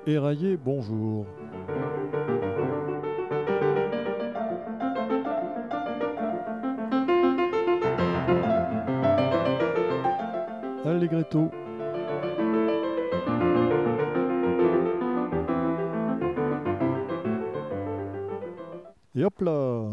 Éraillé, bonjour. Allegretto. Et hop là.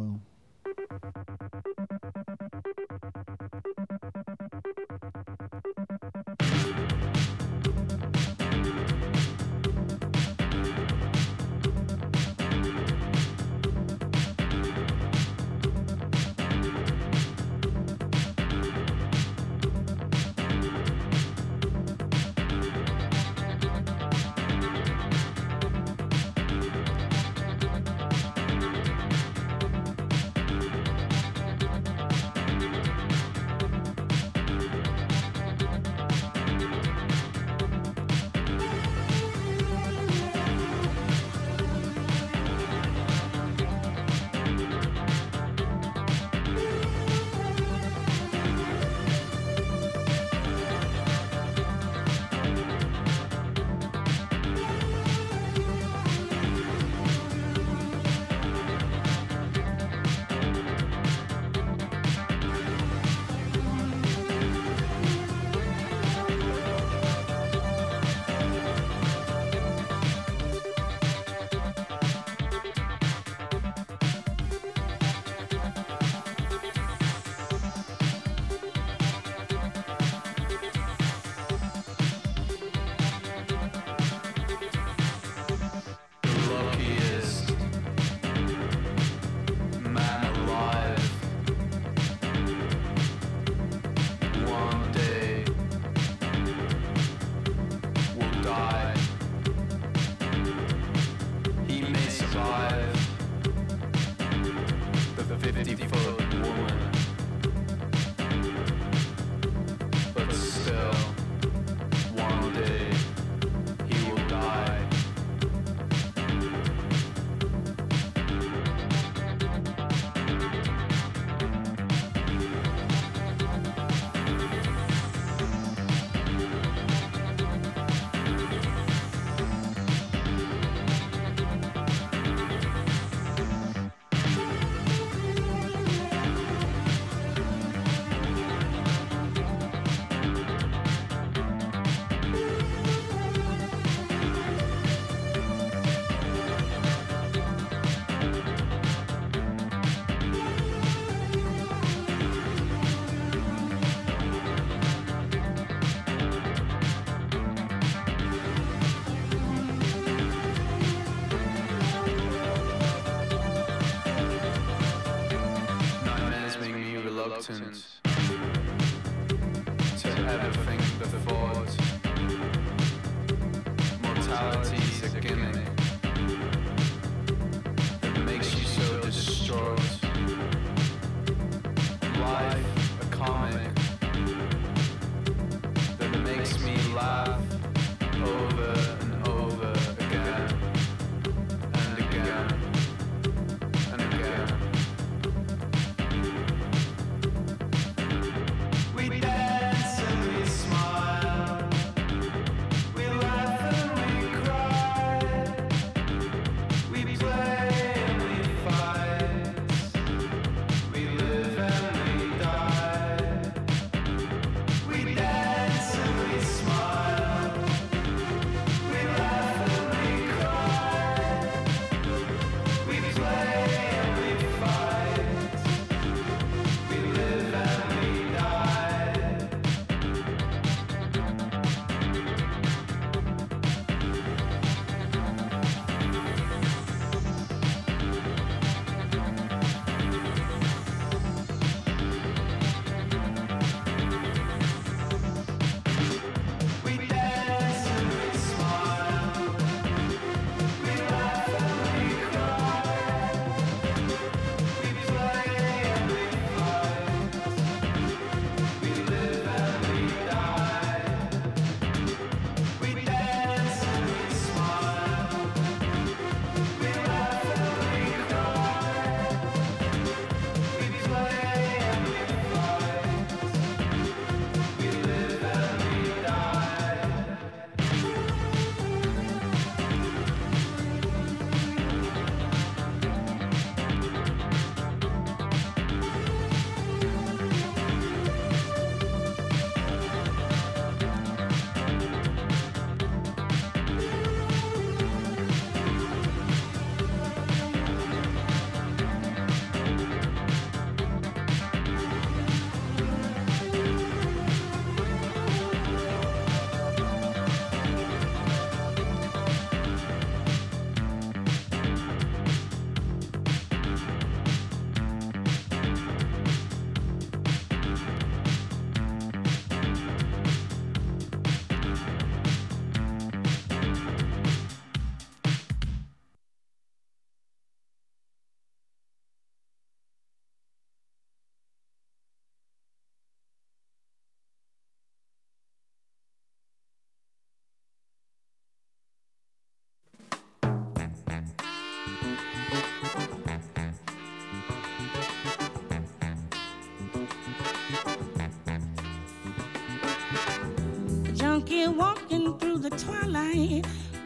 monkey walking through the twilight.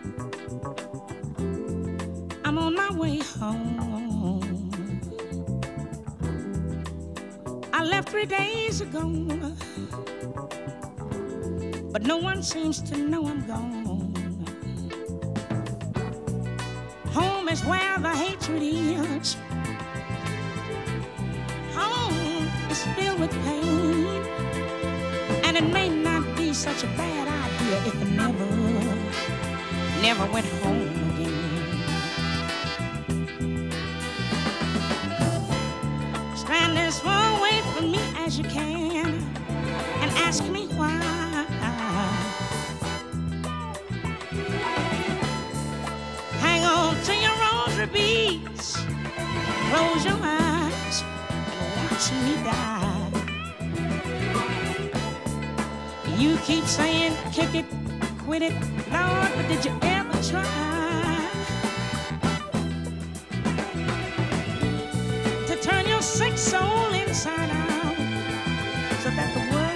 I'm on my way home. I left 3 days ago, but no one seems to know I'm gone. Home is where the hatred is. Home is filled with pain, and it may not be such a bad idea if I never went home again. Stand as far away from me as you can and ask me why. Hang on to your rosary beads, close your eyes and watch me die. You keep saying kick it, quit it, Lord, but did you ever try to turn your sick soul inside out so that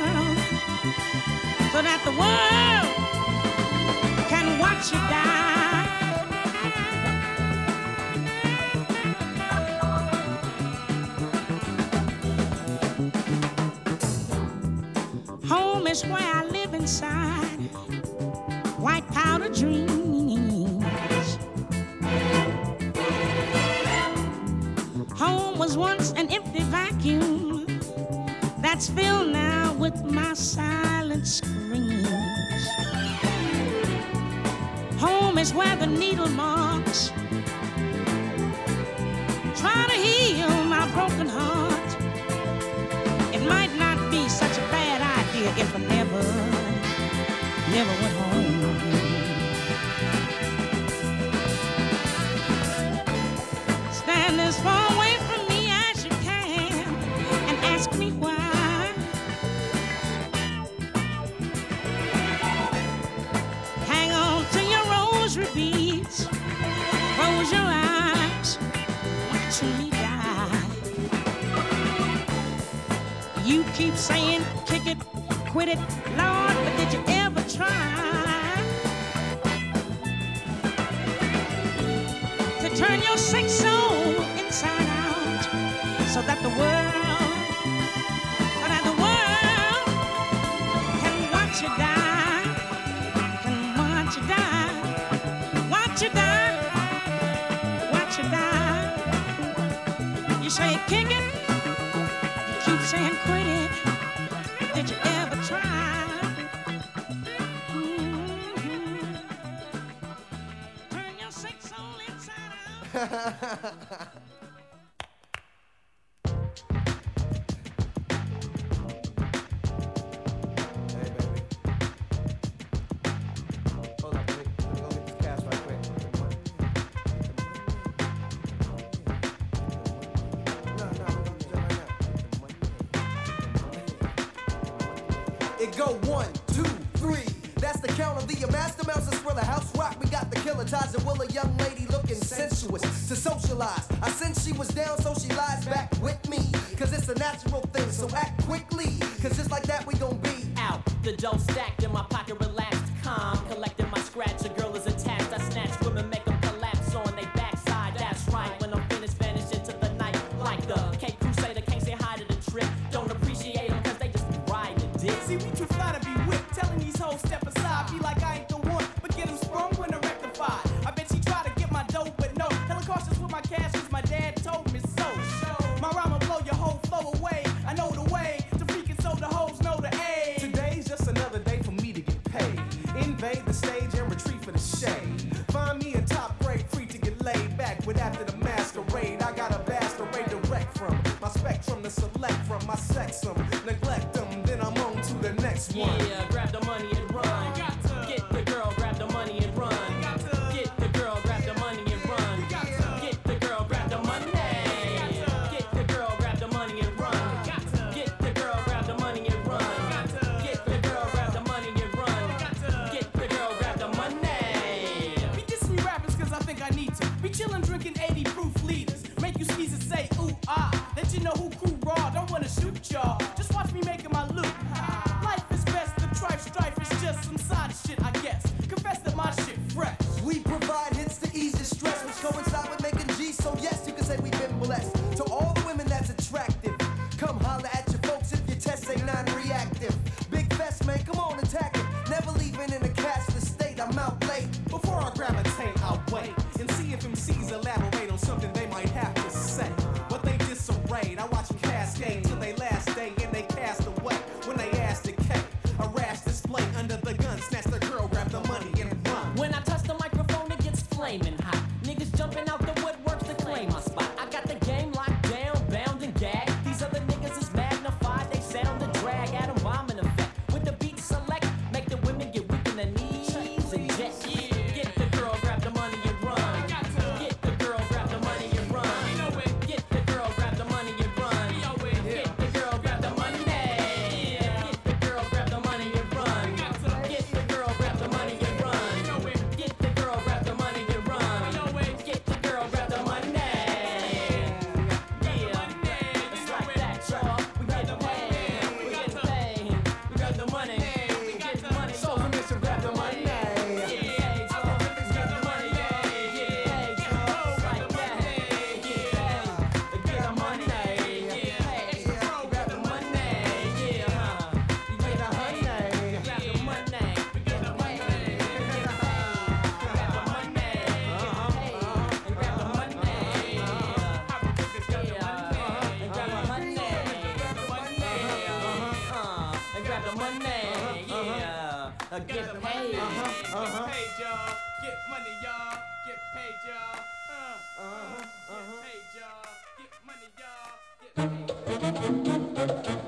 the world can watch you die? Home is where I live inside white powder dreams. Home was once an empty vacuum that's filled now with my silent screams. Home is where the needle marks try to heal my broken heart. It might not be such a bad idea if I never went home again. Stand as far away from me as you can and ask me why. Hang on to your rosary beads, close your eyes, watch me die. You keep saying kick it, quit it, Lord, but did you ever try to turn your sick soul inside out so that the world can watch you die, can watch you die, watch you die, watch you die. You say kick it, you keep saying quit it. Did you ever try? Turn your sick soul inside out. Hey, baby. Hold on, baby. Let me go get this cash right quick. No, we're gonna do that right now. It go 1, 2, 3. That's the count of the master mouse and Thriller House Rock. We got the killer ties and will a young lady looking sensuous to socialize. I sense she was down, so she lies back with me. Cause it's a natural thing, so act quickly. Cause just like that, we gon' be out. The dough stacked in my pocket, relaxed, calm. Collecting my scratch, a girl is attached. I snatch women, make them collapse on they backside. That's right, when I'm finished, vanish into the night. Like the Cape Crusader, can't say hi to the trip. Don't appreciate them cause they just be riding the dick. See, we too fly to be whipped. Telling these hoes step aside. Be like I ain't the one, but get them sprung when they're rectified. I bet she try to get my dough, but no. Hella cautious with my cash cause my dad told me so. My rhyme will blow your whole flow away. I know the way to freaking so the hoes know the A. Today's just another day for me to get paid. Invade the stage and retreat for the shade. Find me in top grade, free to get laid back. With after the masquerade, I got a vast array direct from my spectrum to select from. My sex them, neglect them, then I'm on to the next one. Yeah, grab the money and run. Get the girl, grab the money and run. Get the girl, grab the money and run. Get the girl, grab the money. Get the girl, grab the money and run. Get the girl, grab the money and run. Get the girl, grab the money and run. Get the girl, grab the money. Be dissing me rappers cause I think I need to. Be chillin' drinking 80 proof leaders. Make you squeeze and say ooh ah. Let you know who cool raw. Don't wanna shoot y'all. Just watch me making my loot. Life is best to try grab the money. Yeah, get paid. Get paid, y'all. Get money, y'all. Get paid, y'all. Get paid, y'all. Get money, y'all. Get paid.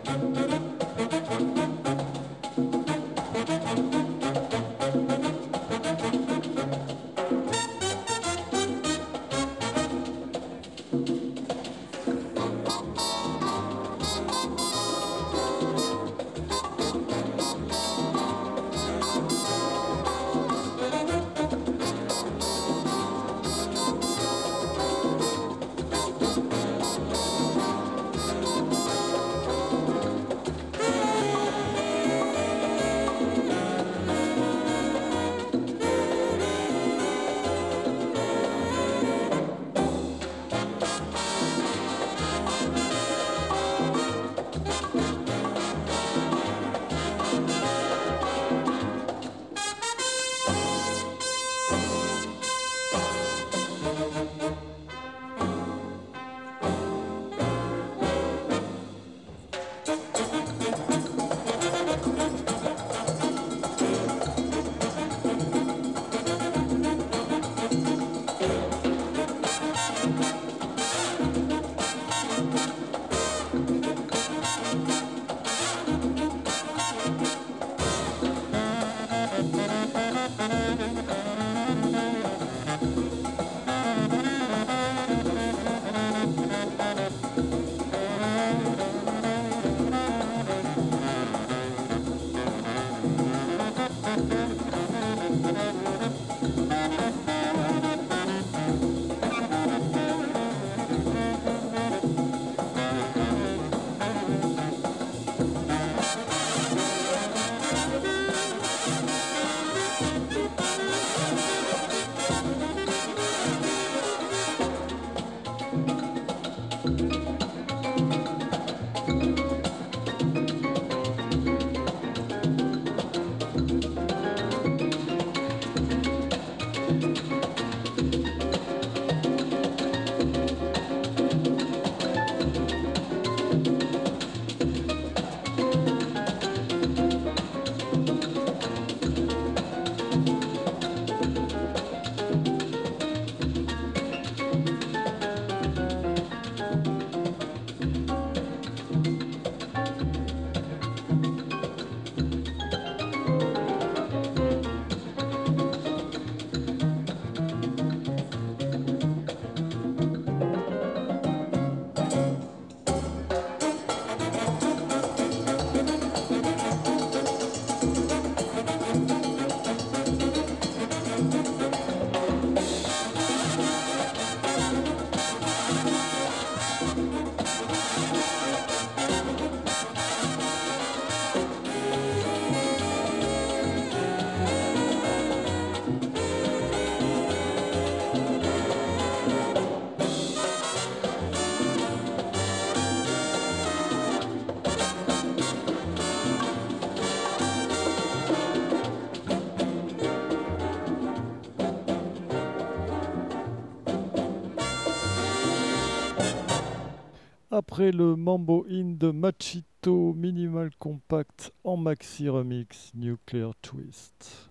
Après le Mambo In de Machito, Minimal Compact en maxi remix Nuclear Twist.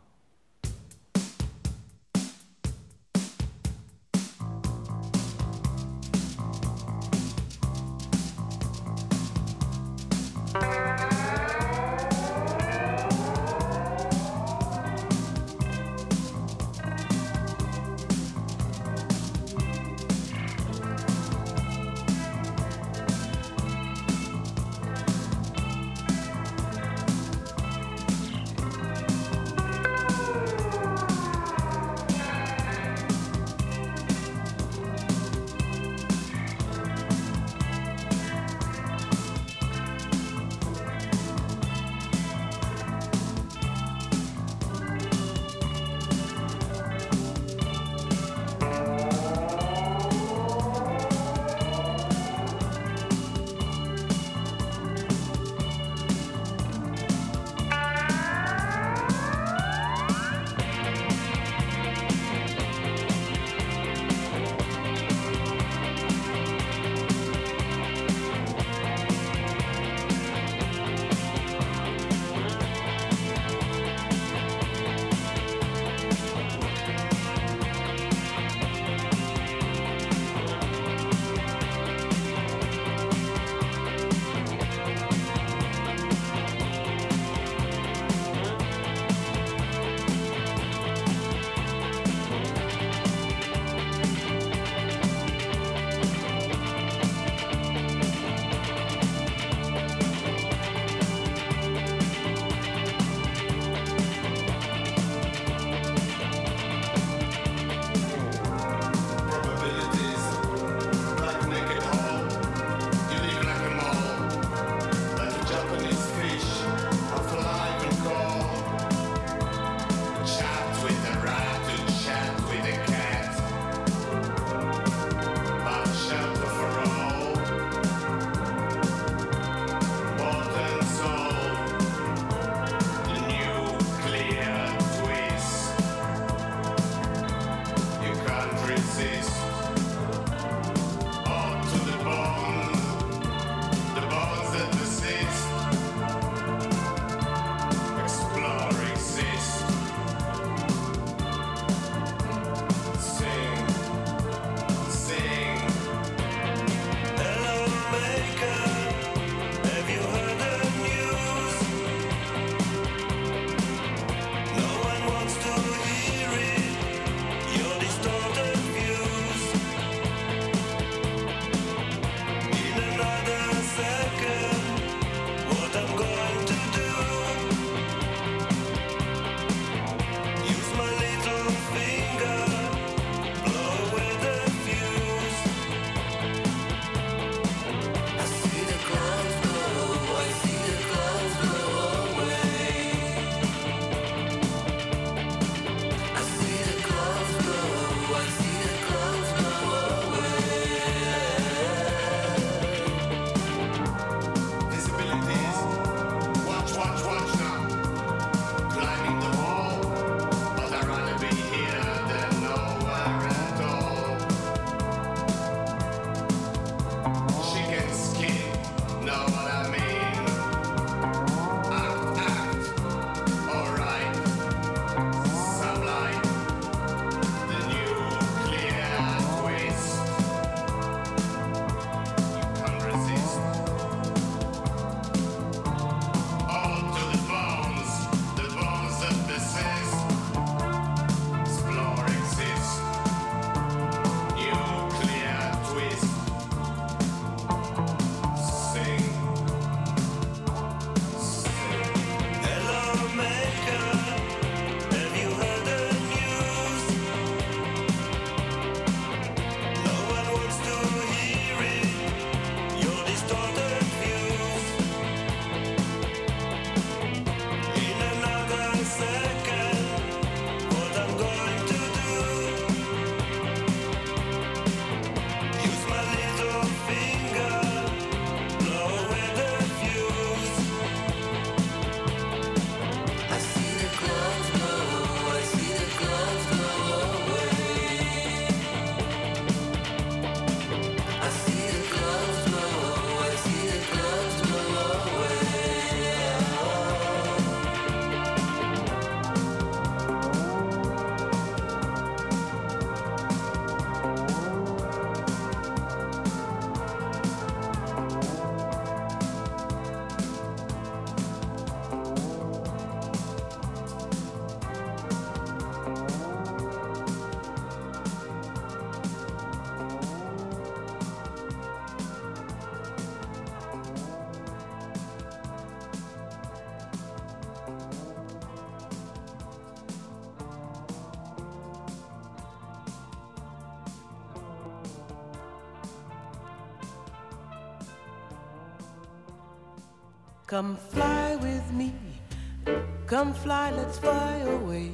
Come fly with me, come fly, let's fly away.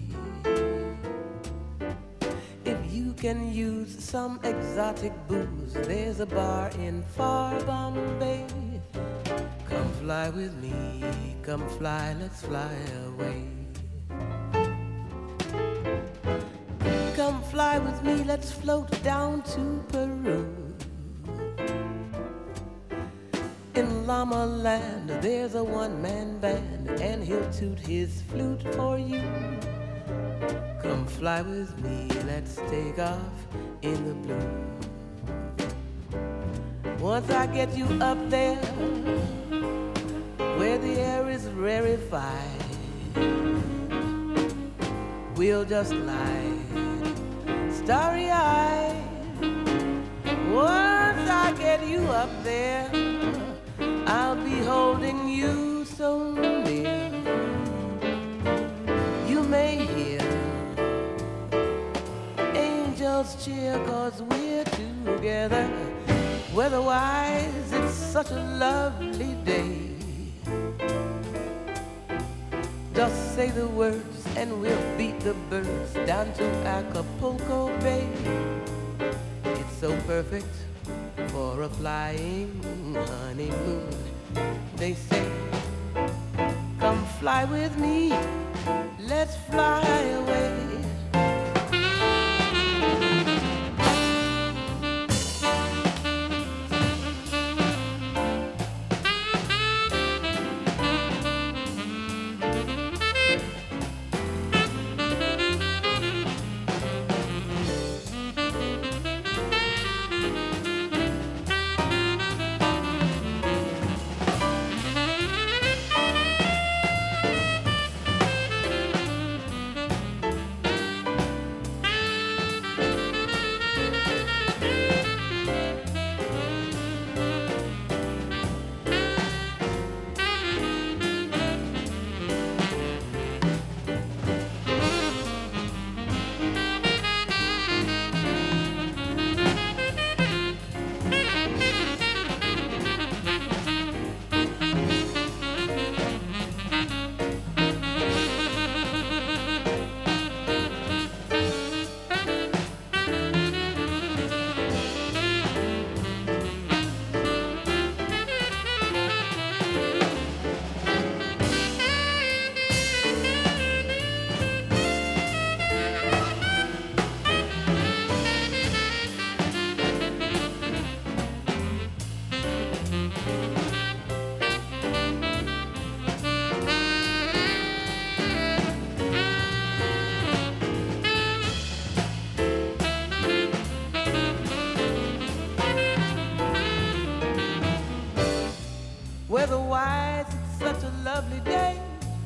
If you can use some exotic booze, there's a bar in far Bombay. Come fly with me, come fly, let's fly away. Come fly with me, let's float down to Peru. In Llama Land, there's a one-man band, and he'll toot his flute for you. Come fly with me, let's take off in the blue. Once I get you up there, where the air is rarefied, we'll just glide, starry-eyed. Once I get you up there, I'll be holding you so near. You may hear angels cheer, 'cause we're together. Weather-wise, it's such a lovely day. Just say the words and we'll beat the birds down to Acapulco Bay. It's so perfect for a flying honeymoon. They say, come fly with me, let's fly away. Weather-wise, it's such a lovely day.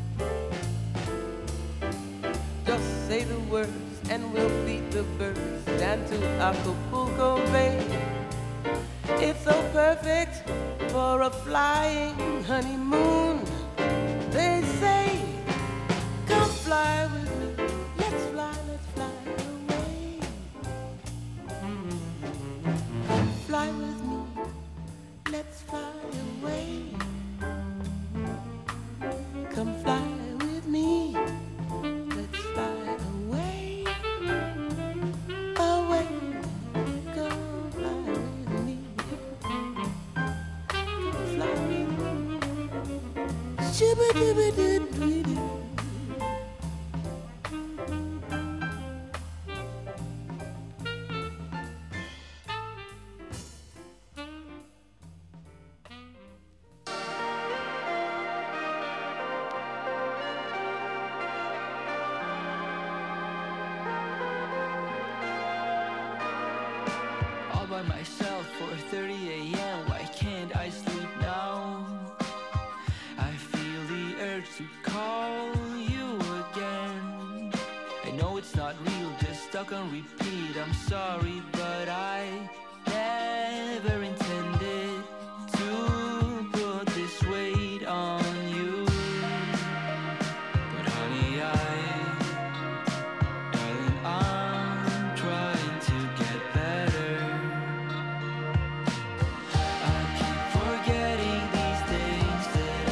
Just say the words and we'll beat the birds down to Acapulco Bay. It's so perfect for a flying honeymoon. They say, come fly with me, let's fly away. Come fly with me, let's fly away. Come fly with me, let's fly away, away. Come fly with me, come fly with me. Shibba-dibba-doo-doo-doo. All by myself, 4:30 a.m. Why can't I sleep now? I feel the urge to call you again. I know it's not real, just stuck on repeat. I'm sorry, but I never intended to put this weight on you. But honey, darling, I'm trying to get better. I keep forgetting these things that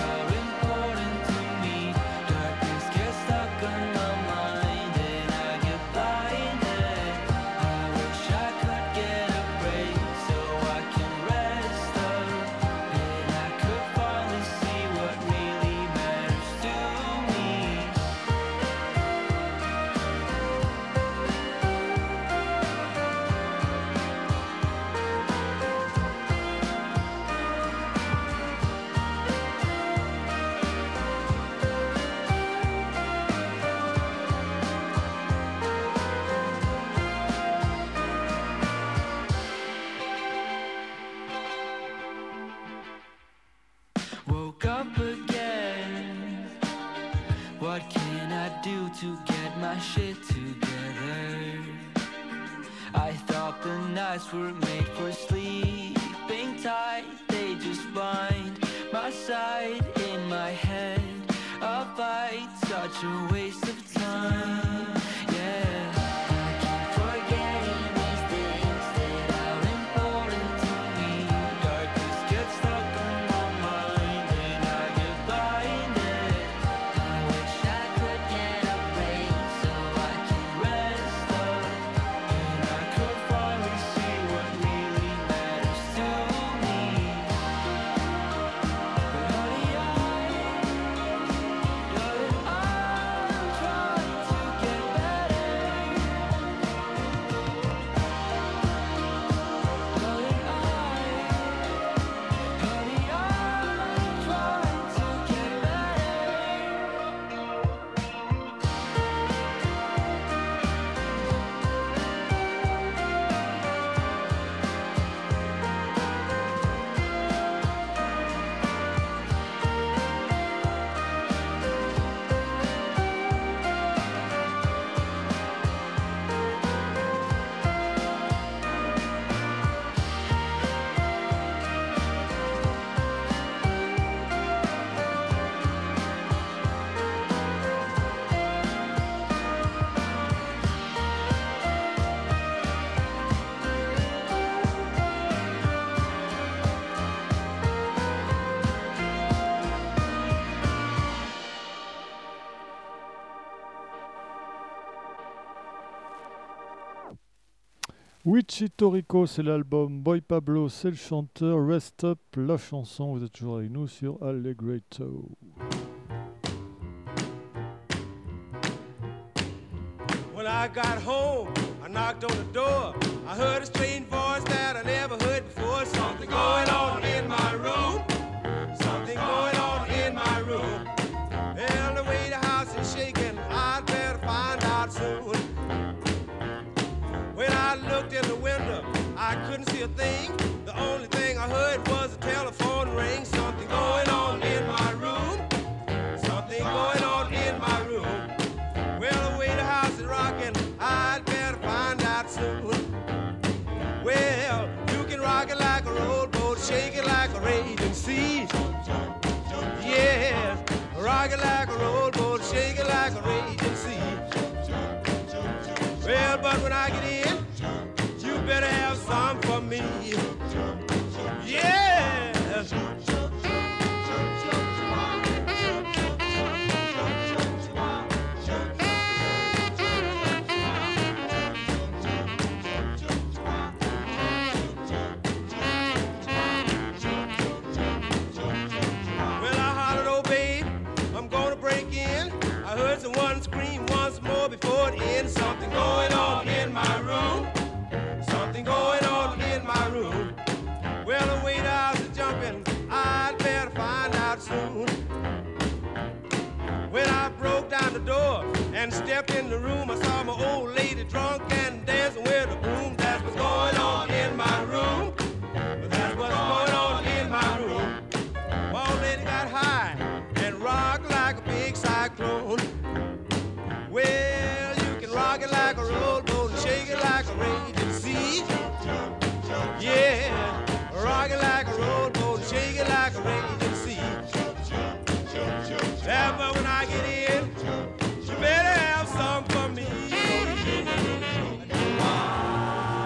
what can I do to get my shit together? I thought the nights were made for sleeping tight. They just bind my side in my head. A fight, such a waste of time. Yeah, I keep forgetting these things that are important to me. Darkness gets stuck on my mind and I get blinded. I wish I could get a break so I can rest up and I could finally see what really matters to me. But honey, I'm trying to get better. Darling, honey, I'm trying to get Wichito Rico, c'est l'album. Boy Pablo, c'est le chanteur. Rest Up, la chanson. Vous êtes toujours avec nous sur Allegretto. When I got home, I knocked on the door. I heard a strange voice that I never heard before. Something going on in my room. Something going on in my room. Well, the way the house is shaking, I'd better find out soon. When I looked in the window, I couldn't see a thing. The only thing I heard was a telephone ring. Something going on in my room. Something going on in my room. Well, the way the house is rocking, I'd better find out soon. Well, you can rock it like a rowboat, shake it like a raging sea. Yes, rock it like a rowboat, shake it like a raging sea. Well, but when I get in, you better have some for me. Yeah. Well, I hollered, oh babe, I'm gonna break in. I heard someone scream once more before it ends. Something going on in my room. Something going on in my room. Well, the way the house is jumping, I'd better find out soon. When I broke down the door and stepped in the room, I saw my old lady drunk and dancing with a broom. That's what's going on in my room. That's what's going on in my room. My old lady got high and rocked like a big cyclone. Well, you can rock it like a rowboat and shake it like a raging sea. Yeah, rock it like a rowboat and shake it like a raging sea. Yeah, but when I get in, you better have some for me.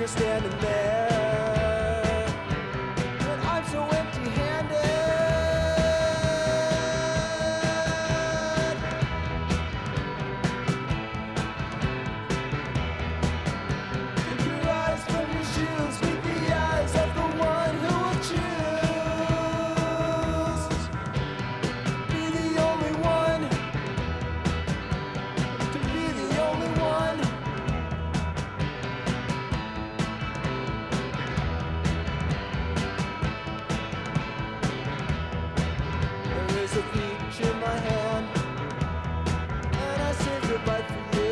standing there, and I'm so empty-handed. Take your eyes from your shoes, meet the eyes of the one who will choose. Be the only one, to be the only one. There is a peach in my hand, and I saved it right for you.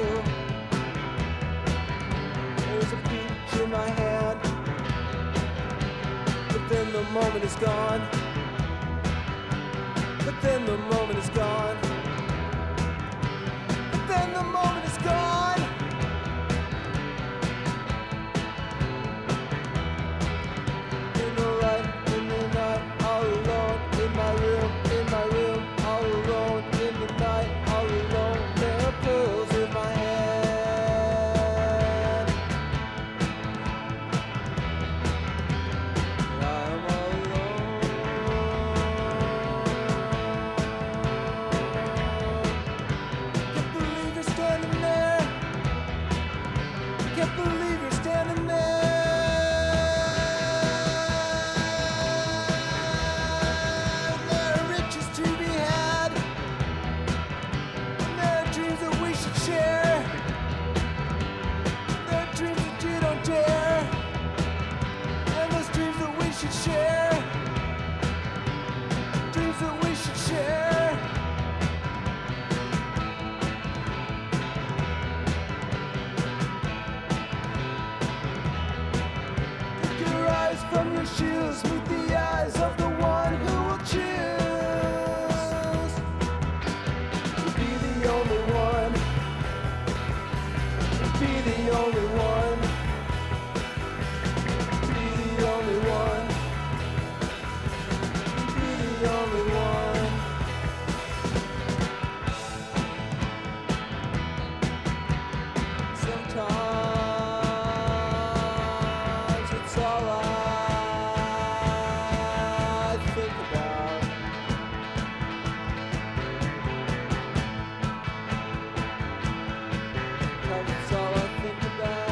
There's a peach in my hand, but then the moment is gone. But then the moment is gone. But then the moment is gone. In the light, in the night, all alone, in my room, all alone, in the night, all alone. There are pills in my hand. And I am all alone. Can't believe you're standing there. Can't believe you're standing there. There are riches to be had, and there are dreams that we should share. There are dreams that you don't dare, and those dreams that we should share. Dreams that we should share. Take your eyes from your shoes, meet the eyes of the one who will choose to be the only one, be the only one, be the only one, be the only one. Sometimes it's all I think about. Sometimes it's all I think about.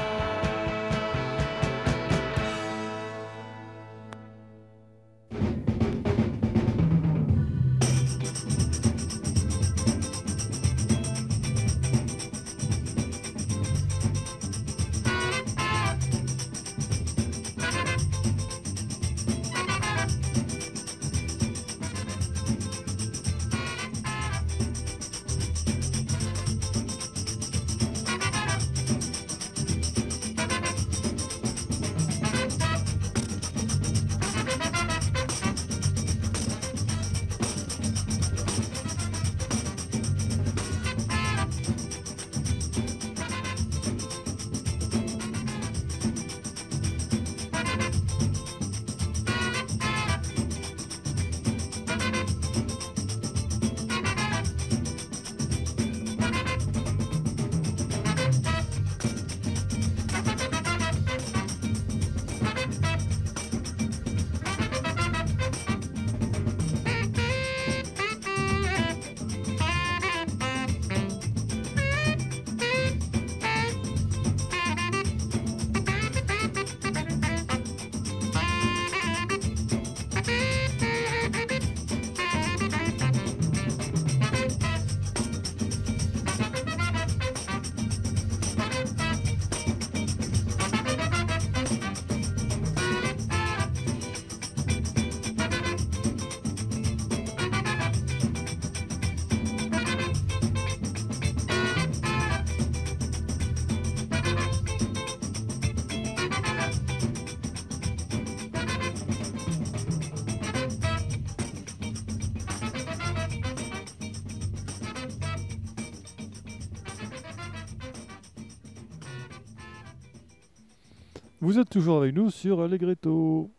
Vous êtes toujours avec nous sur Allegretto.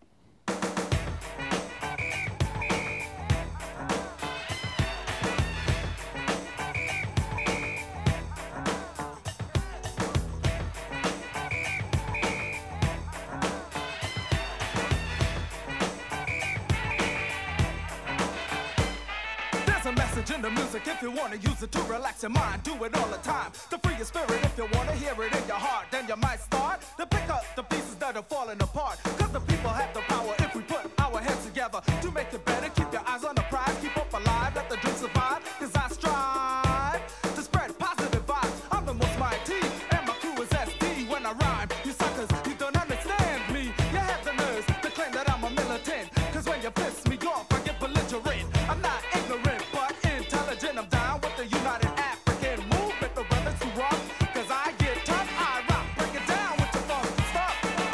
a message in the music if you wanna use it to relax your mind. Do it all the time to free your spirit. If you wanna hear it in your heart, then you might start to pick up the pieces that are falling apart. Cause the people have the power if we put our heads together to make it better. Keep your eyes on the prize, keep up alive, let the dream survive. Cause I strive to spread positive vibes. I'm the most mighty, and my crew is SD when I rhyme. You suckers, you don't understand me. You have the nerves to claim that I'm a militant. Cause when you piss me off, I get belligerent. I'm not ignorant, but intelligent. I'm down with the United African Movement, the brothers who rock. Cause I get tough, I rock. Break it down with your funky stuff.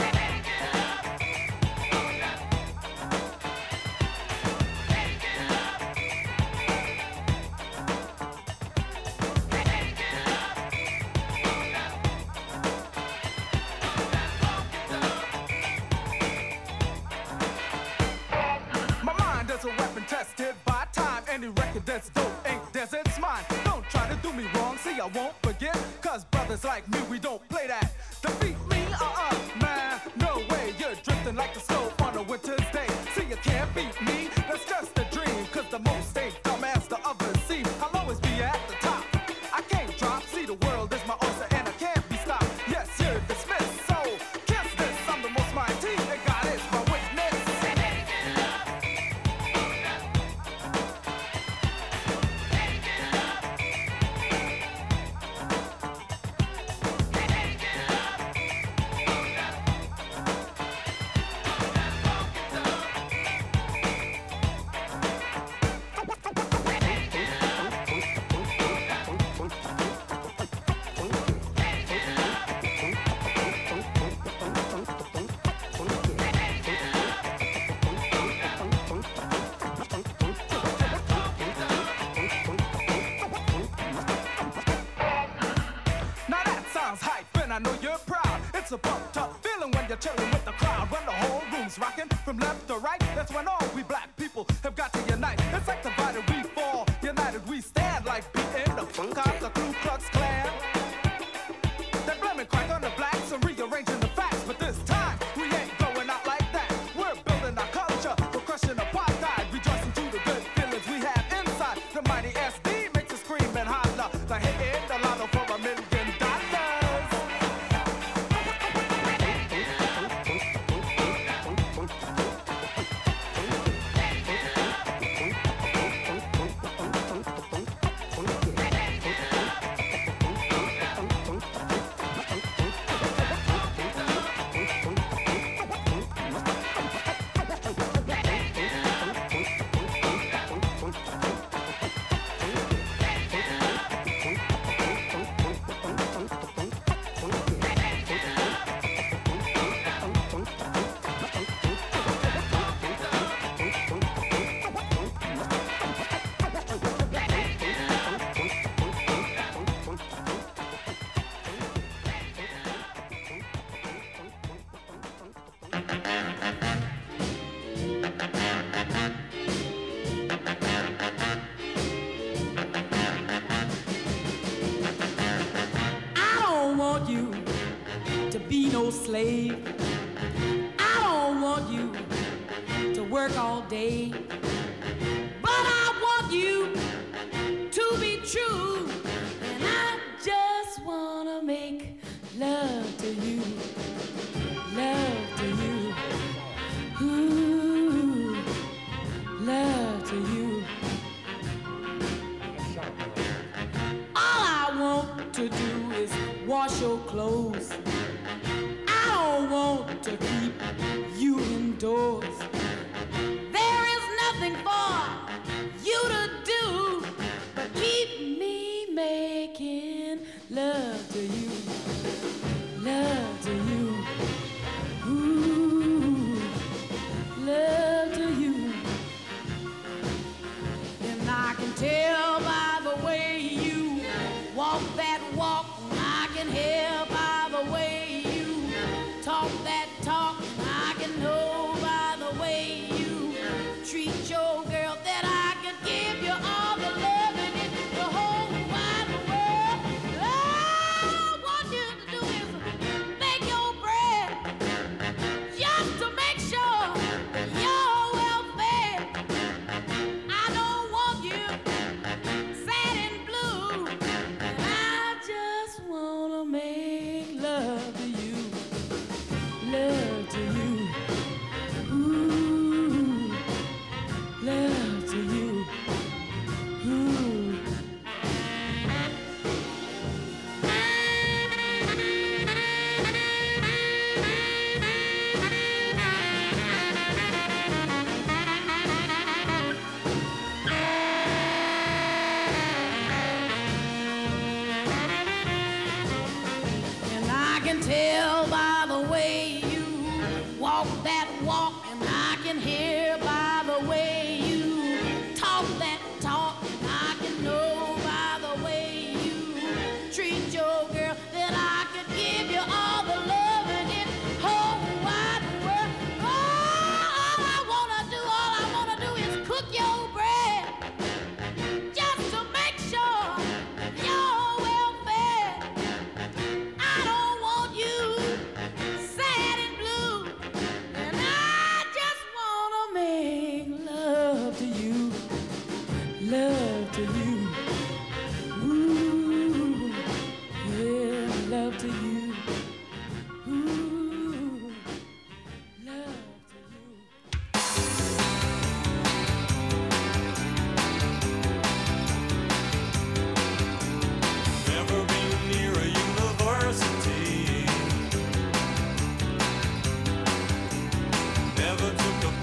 My mind is a weapon tested by time. Any record that's dope ain't theirs, it's mine. Don't try to do me wrong, see I won't forget. Cause brothers like me, we don't play that. Defeat me, man, no way. You're drifting like the snow on a winter's day. See you can't beat me, that's just a dream. Cause the most ain't dumb as the others seem. I'll always be at the top, I can't drop. See the world is my oyster and I can't be stopped. Yes, you're dismissed, so kiss this. I'm the most mighty and God is my witness. Now that sounds hype, and I know you're proud. It's a pumped up feeling when you're chilling with the crowd. When the whole room's rocking from left to right, that's when all we black people have got to unite. It's like divided we fall, united we stand. Like beating the funk out the Ku Klux Klan. They're blaming crack on the blacks and rearranging the facts. But this time, we ain't going out like that. We're building our culture, we're crushing apartheid. Rejoicing to the good feelings we have inside. The mighty SD makes us scream and holler. The hit in the lotto for $1 million. I don't want you to be no slave. I don't want you to work all day. But I want you to be true. And I just want to make love to you. Love to you. Ooh, love to you. All I want to do is wash your clothes. I don't want to keep you indoors. There is nothing for you to do but keep me making love to you. Love to you. Ooh, love to you. And I can tell by the way you walk that walk. I can hear by the way you talk that talk. I can know by the way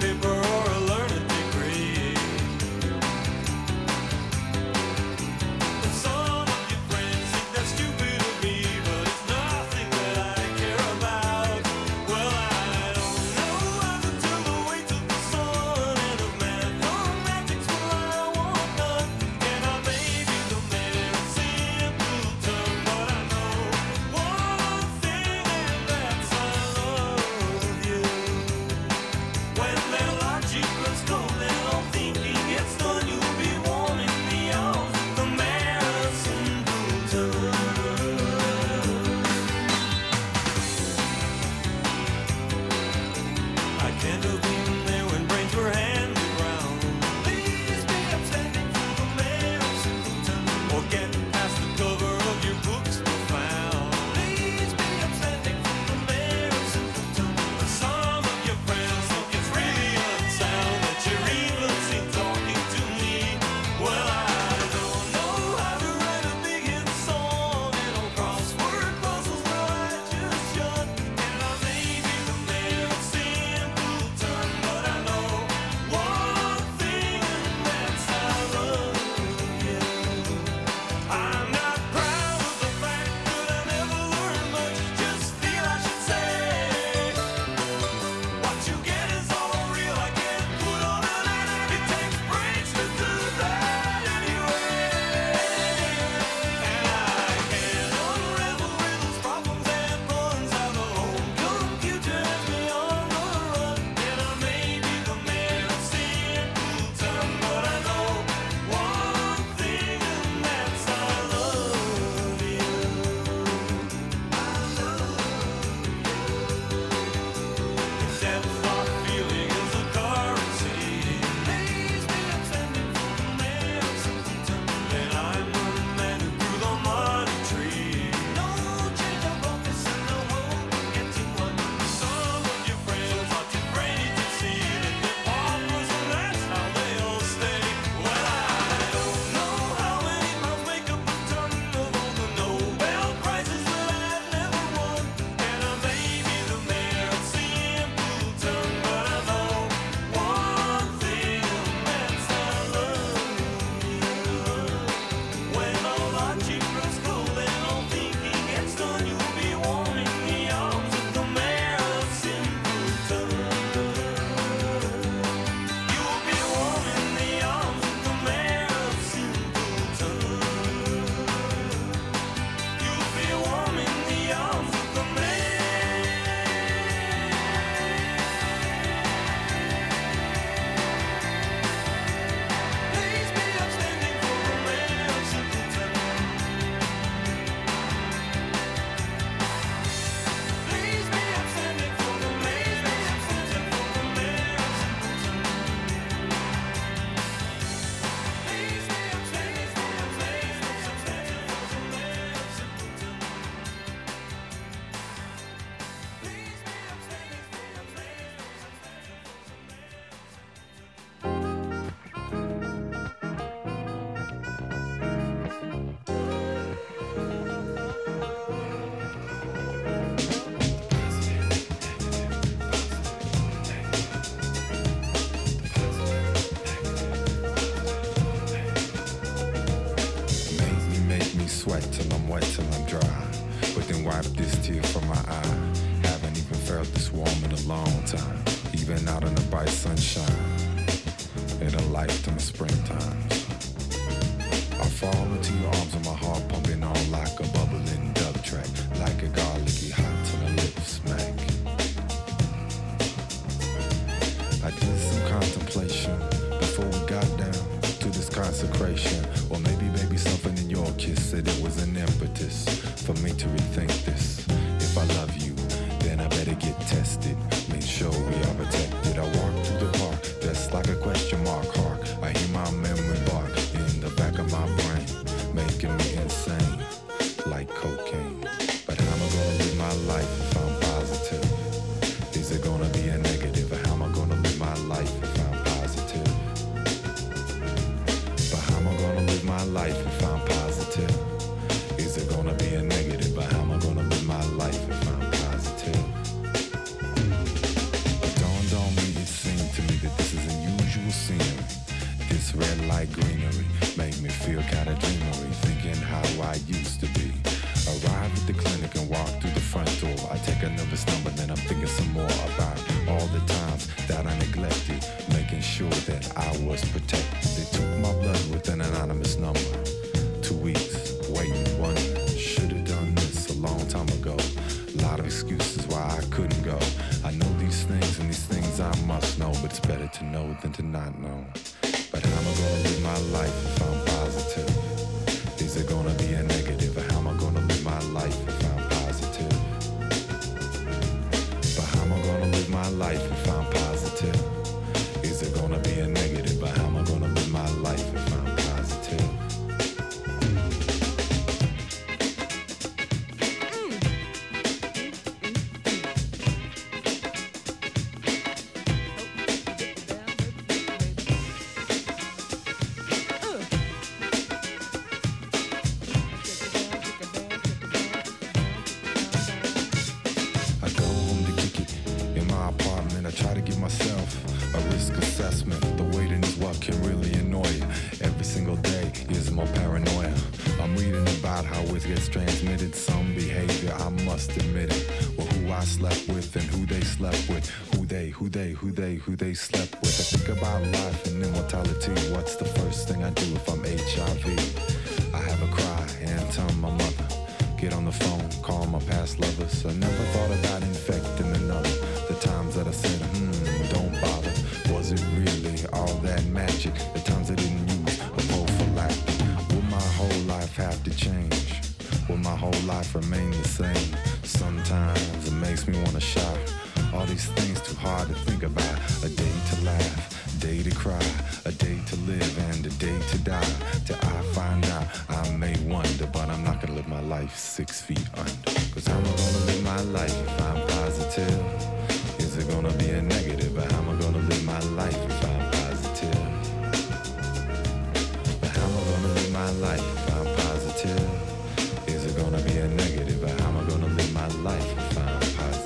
paper or a learned degree. Some of your friends think that's stupid of me, but it's nothing that I care about. Well, I don't know how to tell the weight of the sun and of mathematics, well, I want none. And I may be the man of simpleton, but I know one thing, and that's I love you. When their logic runs cold and all thinking gets done, you'll be warm in the arms of the man of simpleton. I can't have been there when brains were handed round. Please be upstanding for the man of simpleton, or get past the cover of your books profound. Please be upstanding for the man of simpleton. Some of your friends think it's really unsound that you're even seen talking to me. Well, I don't know how to write a big hit song and all crossword puzzles, well, I just shut. And I may be the man of simpleton, but I know one thing, and that's I love you. I'm not proud of the fact that I never learned much, just feel I should say what you get is all real, I can't put on an act. It takes brains to do that anyway. And I can't unravel riddles, problems, and puns. How the home computer has me on the run. And I may be the man of simpleton, but I know one thing, and that's I love you. I love you. Depth of feeling is a currency. Please be upstanding for the man of simpleton, and I'm the man who grew the money tree. No change of office and no hope of getting one. Some of your friends are too afraid to see that they're paupers, and that's how they all stay. Well, I don't know how many mouths make up a ton of all the Nobel Prizes that I've never won. And I may be the man of simpleton, but I know one thing, and that's I love you. When all logic grows cold and all thinking gets done, you'll be warm in the arms of the man of simpleton. You'll be warm in the arms of the man of simpleton. You'll be warm in the arms of the man. Please be upstanding for the man of simpleton. Please be upstanding for the man of simpleton. Please be upstanding for the man of Make me sweat till I'm wet till I'm dry. But then wipe this tear from my eye. Haven't even felt this warm in a long time. Even out in the bright sunshine. In a lifetime of springtime. I fall into your arms and my heart pumping on like a bubbling dub track. Like a garlicky hot till the lips smack. I did some contemplation before we got down to this consecration. Or maybe something in your kiss said it was an impetus for me to rethink this. If I love you, then I better get tested. Make sure we are protected. I walk through the park, that's like a question mark. Hark, I hear my memory bark in the back of my brain, making me insane, like cocaine. But how am I gonna live my life if I'm positive? Is it gonna be a negative? Or how am I gonna live my life if I'm positive? But how am I gonna live my life if I'm positive? Is it gonna be a negative? But how am I gonna live my life if I'm positive? It dawned on me, it seemed to me like greenery. Make me feel kinda dreamery, thinking how I used to be. Arrive at the clinic and walk through the front door. I take another number, then I'm thinking some more about all the times that I neglected, making sure that I was protected. They took my blood with an anonymous number. 2 weeks, waiting, wondering, should've done this a long time ago. Lot of excuses why I couldn't go. I know these things and these things I must know, but it's better to know than to not know. But how am I gonna live my life if I'm positive? Is it gonna be a negative? Or how am I gonna live my life if I'm positive? But how am I gonna live my life if I'm positive? Is it gonna be a negative? But how am I gonna live my life if I'm positive? Who they slept with. I think about life and immortality. What's the first thing I do if I'm HIV? I have a cry and tell my mother. Get on the phone, call my past lovers. I never thought about infecting another. The times that I said, don't bother. Was it really all that magic? The times I didn't use a prophylactic. Will my whole life have to change? Will my whole life remain the same? Sometimes it makes me want to shout. All these things too hard to think about. A day to laugh, a day to cry, a day to live and a day to die. Till I find out I may wonder, but I'm not gonna live my life 6 feet under. Cause how am I gonna live my life if I'm positive? Is it gonna be a negative? But how am I gonna live my life if I'm positive? But how am I gonna live my life if I'm positive? Is it gonna be a negative? But how am I gonna live my life if I'm positive?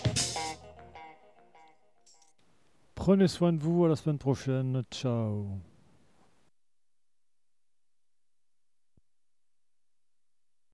Prenez soin de vous, à la semaine prochaine. Ciao.